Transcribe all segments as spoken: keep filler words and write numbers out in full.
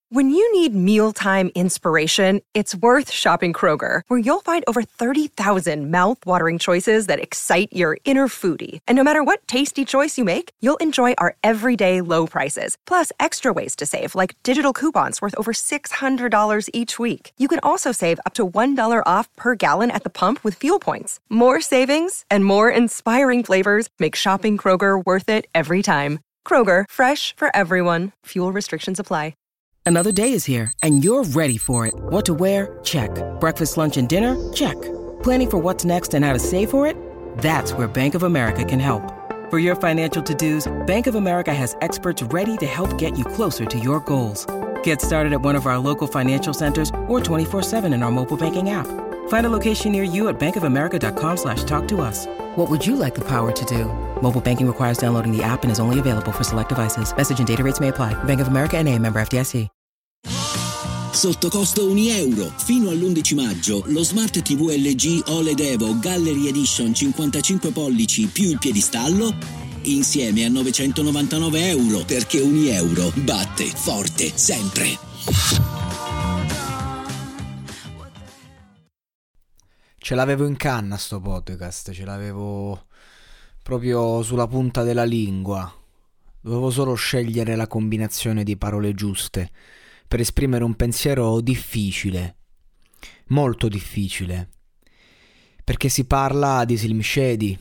When you need mealtime inspiration, it's worth shopping Kroger, where you'll find over thirty thousand mouth-watering choices that excite your inner foodie. And no matter what tasty choice you make, you'll enjoy our everyday low prices, plus extra ways to save, like digital coupons worth over six hundred dollars each week. You can also save up to one dollar off per gallon at the pump with fuel points. More savings and more inspiring flavors make shopping Kroger worth it every time. Kroger, fresh for everyone. Fuel restrictions apply. Another day is here, and you're ready for it. What to wear? Check. Breakfast, lunch, and dinner? Check. Planning for what's next and how to save for it? That's where Bank of America can help. For your financial to-dos, Bank of America has experts ready to help get you closer to your goals. Get started at one of our local financial centers or twenty-four seven in our mobile banking app. Find a location near you at bankofamerica.com slash talk to us. What would you like the power to do? Mobile banking requires downloading the app and is only available for select devices. Message and data rates may apply. Bank of America N A, member F D I C. Sotto costo un euro. Fino all'undici maggio lo Smart ti vu L G O L E D Evo Gallery Edition cinquantacinque pollici più il piedistallo insieme a novecentonovantanove euro, perché un euro batte forte sempre. Ce l'avevo in canna sto podcast, ce l'avevo proprio sulla punta della lingua. Dovevo solo scegliere la combinazione di parole giuste per esprimere un pensiero difficile, molto difficile, perché si parla di Slim Shady.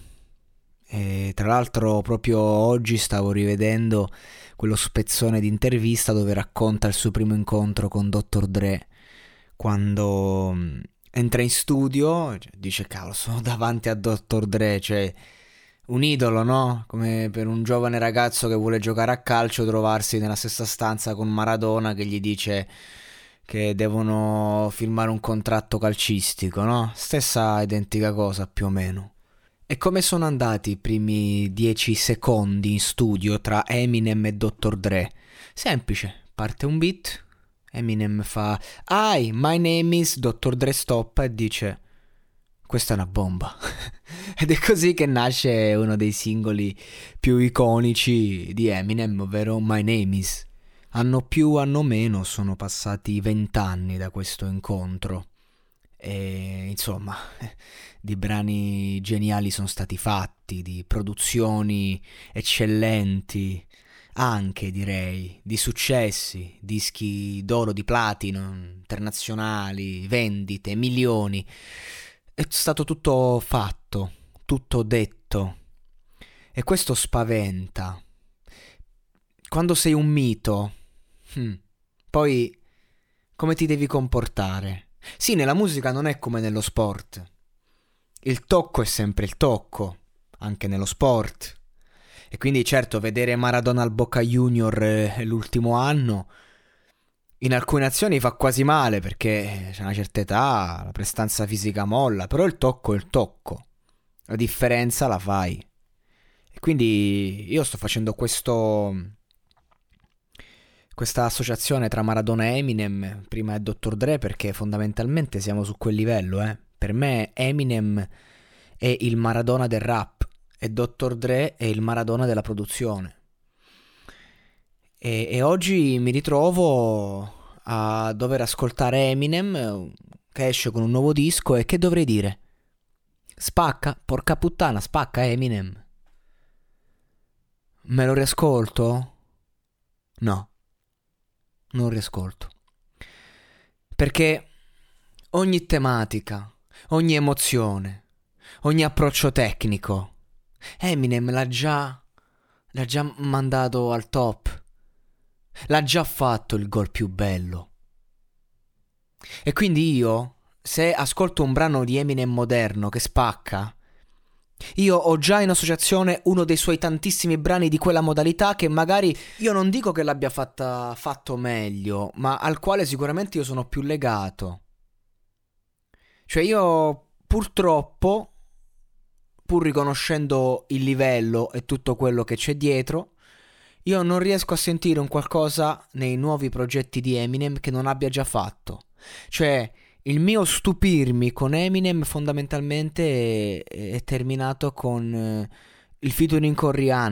E tra l'altro proprio oggi stavo rivedendo quello spezzone di intervista dove racconta il suo primo incontro con dottor Dre, quando entra in studio, dice cavolo, sono davanti a dottor Dre, cioè un idolo, no? Come per un giovane ragazzo che vuole giocare a calcio trovarsi nella stessa stanza con Maradona che gli dice che devono firmare un contratto calcistico, no? Stessa identica cosa più o meno. E come sono andati i primi dieci secondi in studio tra Eminem e dottor Dre? Semplice, parte un beat, Eminem fa "Hi, my name is", dottor Dre stoppa e dice "Questa è una bomba". Ed è così che nasce uno dei singoli più iconici di Eminem, ovvero My Name Is. Anno più, anno meno, sono passati vent'anni da questo incontro. E insomma, di brani geniali sono stati fatti, di produzioni eccellenti, anche direi, di successi, dischi d'oro, di platino, internazionali, vendite, milioni. È stato tutto fatto, tutto detto, e questo spaventa. Quando sei un mito, hmm, poi come ti devi comportare? Sì, nella musica non è come nello sport. Il tocco è sempre il tocco, anche nello sport. E quindi certo, vedere Maradona al Boca Junior eh, l'ultimo anno in alcune azioni fa quasi male, perché c'è una certa età, la prestanza fisica molla, però il tocco è il tocco, la differenza la fai. E quindi io sto facendo questo questa associazione tra Maradona e Eminem, prima è dottor Dre, perché fondamentalmente siamo su quel livello, eh. Per me Eminem è il Maradona del rap e dottor Dre è il Maradona della produzione. E, e oggi mi ritrovo a dover ascoltare Eminem che esce con un nuovo disco, e che dovrei dire? Spacca, porca puttana, spacca Eminem. Me lo riascolto? No, non riascolto. Perché ogni tematica, ogni emozione, ogni approccio tecnico, Eminem l'ha già, l'ha già mandato al top. L'ha già fatto il gol più bello. E quindi io, se ascolto un brano di Eminem moderno che spacca, io ho già in associazione uno dei suoi tantissimi brani di quella modalità che magari io non dico che l'abbia fatta, fatto meglio, ma al quale sicuramente io sono più legato. Cioè io purtroppo, pur riconoscendo il livello e tutto quello che c'è dietro, io non riesco a sentire un qualcosa nei nuovi progetti di Eminem che non abbia già fatto. Cioè, il mio stupirmi con Eminem fondamentalmente è, è terminato con eh, il featuring con Rihanna,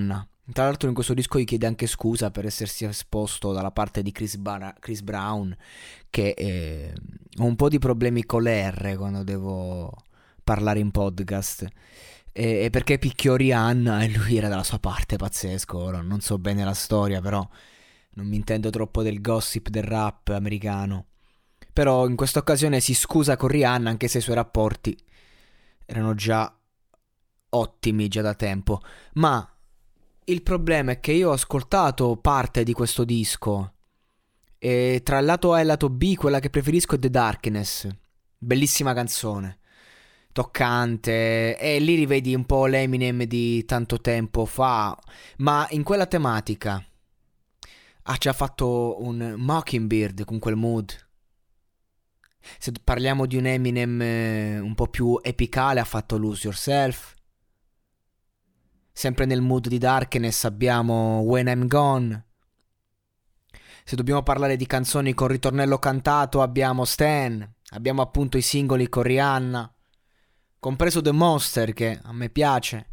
Tra l'altro in questo disco gli chiede anche scusa per essersi esposto dalla parte di Chris, Bar- Chris Brown, che eh, ho un po' di problemi con le R quando devo parlare in podcast, e, e perché picchiò Rihanna e lui era dalla sua parte, pazzesco. Ora non so bene la storia, però non mi intendo troppo del gossip del rap americano. Però in questa occasione si scusa con Rihanna, anche se i suoi rapporti erano già ottimi già da tempo. Ma il problema è che io ho ascoltato parte di questo disco e tra il lato A e il lato B quella che preferisco è The Darkness. Bellissima canzone, toccante, e lì rivedi un po' l'Eminem di tanto tempo fa, ma in quella tematica ha già fatto un Mockingbird con quel mood. Se parliamo di un Eminem eh, un po' più epicale, ha fatto Lose Yourself. Sempre nel mood di Darkness abbiamo When I'm Gone. Se dobbiamo parlare di canzoni con ritornello cantato abbiamo Stan. Abbiamo appunto i singoli con Rihanna, compreso The Monster, che a me piace.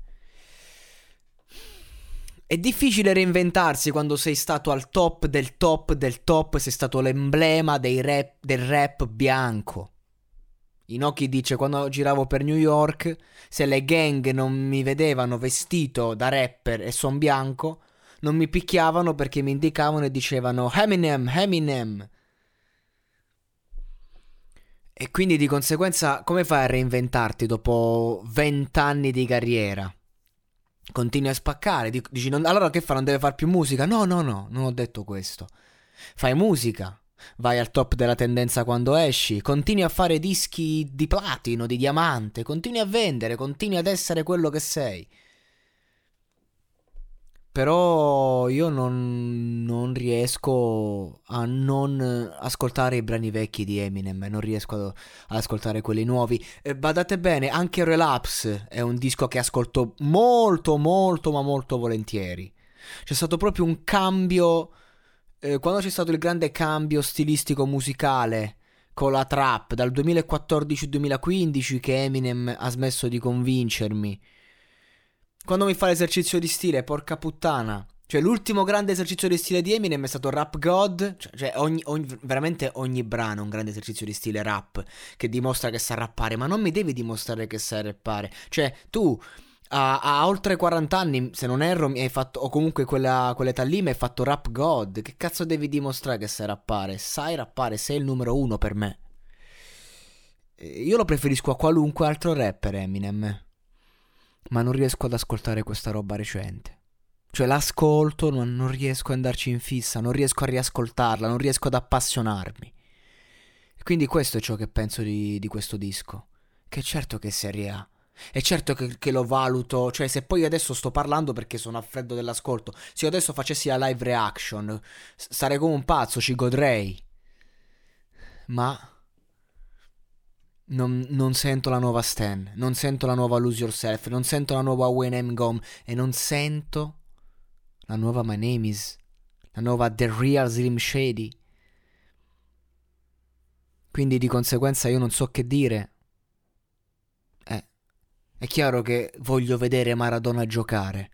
È difficile reinventarsi quando sei stato al top del top del top, sei stato l'emblema dei rap, del rap bianco. Inoki dice: quando giravo per New York, se le gang non mi vedevano vestito da rapper e son bianco, non mi picchiavano perché mi indicavano e dicevano Eminem, Eminem. E quindi di conseguenza come fai a reinventarti dopo vent'anni di carriera? Continui a spaccare, dici non, allora che fa, non deve fare più musica? No, no, no, non ho detto questo. Fai musica, vai al top della tendenza quando esci, continui a fare dischi di platino, di diamante, continui a vendere, continui ad essere quello che sei. Però io non, non riesco a non ascoltare i brani vecchi di Eminem, non riesco ad, ad ascoltare quelli nuovi. E badate bene, anche Relapse è un disco che ascolto molto, molto, ma molto volentieri. C'è stato proprio un cambio, eh, quando c'è stato il grande cambio stilistico musicale con la trap, dal duemilaquattordici duemilaquindici, che Eminem ha smesso di convincermi. Quando mi fa l'esercizio di stile, porca puttana. Cioè l'ultimo grande esercizio di stile di Eminem è stato Rap God. Cioè, cioè ogni, ogni, veramente ogni brano è un grande esercizio di stile rap, che dimostra che sa rappare. Ma non mi devi dimostrare che sai rappare. Cioè tu a, a oltre quaranta anni, se non erro, mi hai fatto, o comunque quella, quell'età lì mi hai fatto Rap God. Che cazzo devi dimostrare che sai rappare? Sai rappare, sei il numero uno per me. Io lo preferisco a qualunque altro rapper, Eminem, ma non riesco ad ascoltare questa roba recente. Cioè l'ascolto, non, non riesco ad andarci in fissa, non riesco a riascoltarla, non riesco ad appassionarmi. E quindi questo è ciò che penso di, di questo disco. Che certo che è serie A, è certo che, che lo valuto. Cioè se poi adesso sto parlando perché sono a freddo dell'ascolto, se io adesso facessi la live reaction sarei come un pazzo, ci godrei. Ma Non, non sento la nuova Stan, non sento la nuova Lose Yourself, non sento la nuova When I'm Gone e non sento la nuova My Name Is, la nuova The Real Slim Shady. Quindi di conseguenza io non so che dire. Eh, è chiaro che voglio vedere Maradona giocare,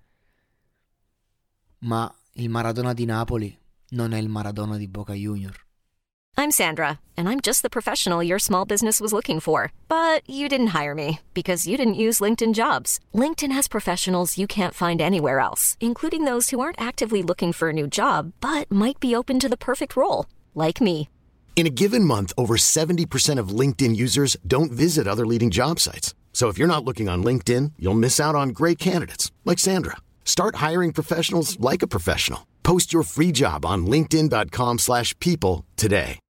ma il Maradona di Napoli non è il Maradona di Boca Junior. I'm Sandra, and I'm just the professional your small business was looking for. But you didn't hire me because you didn't use LinkedIn Jobs. LinkedIn has professionals you can't find anywhere else, including those who aren't actively looking for a new job, but might be open to the perfect role, like me. In a given month, over seventy percent of LinkedIn users don't visit other leading job sites. So if you're not looking on LinkedIn, you'll miss out on great candidates, like Sandra. Start hiring professionals like a professional. Post your free job on linkedin dot com slash people today.